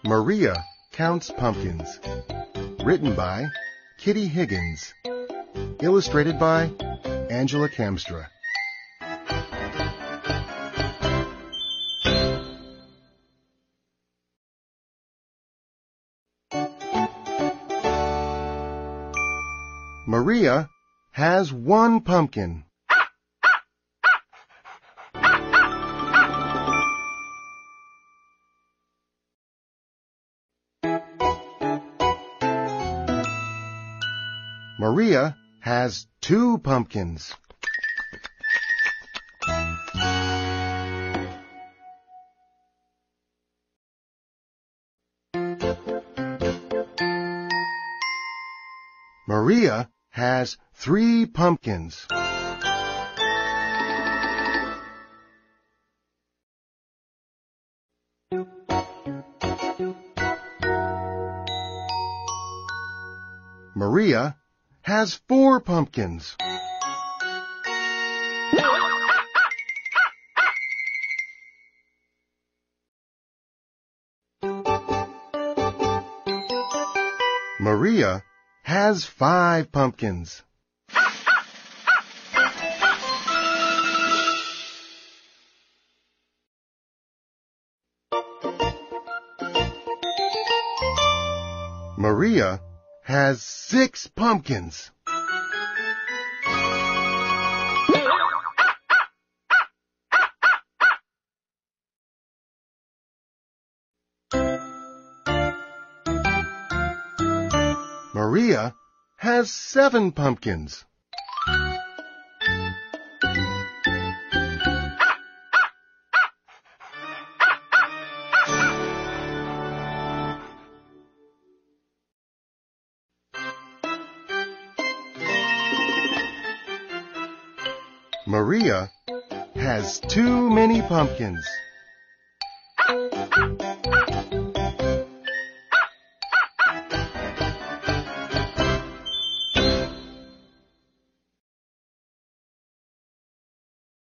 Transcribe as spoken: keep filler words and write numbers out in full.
Maria Counts Pumpkins. Written by Kitty Higgins. Illustrated by Angela Kamstra. Maria has one pumpkin. Maria has two pumpkins. Maria has three pumpkins. Maria has four pumpkins. Maria has five pumpkins. Maria has six pumpkins. Maria has seven pumpkins. Maria has too many pumpkins.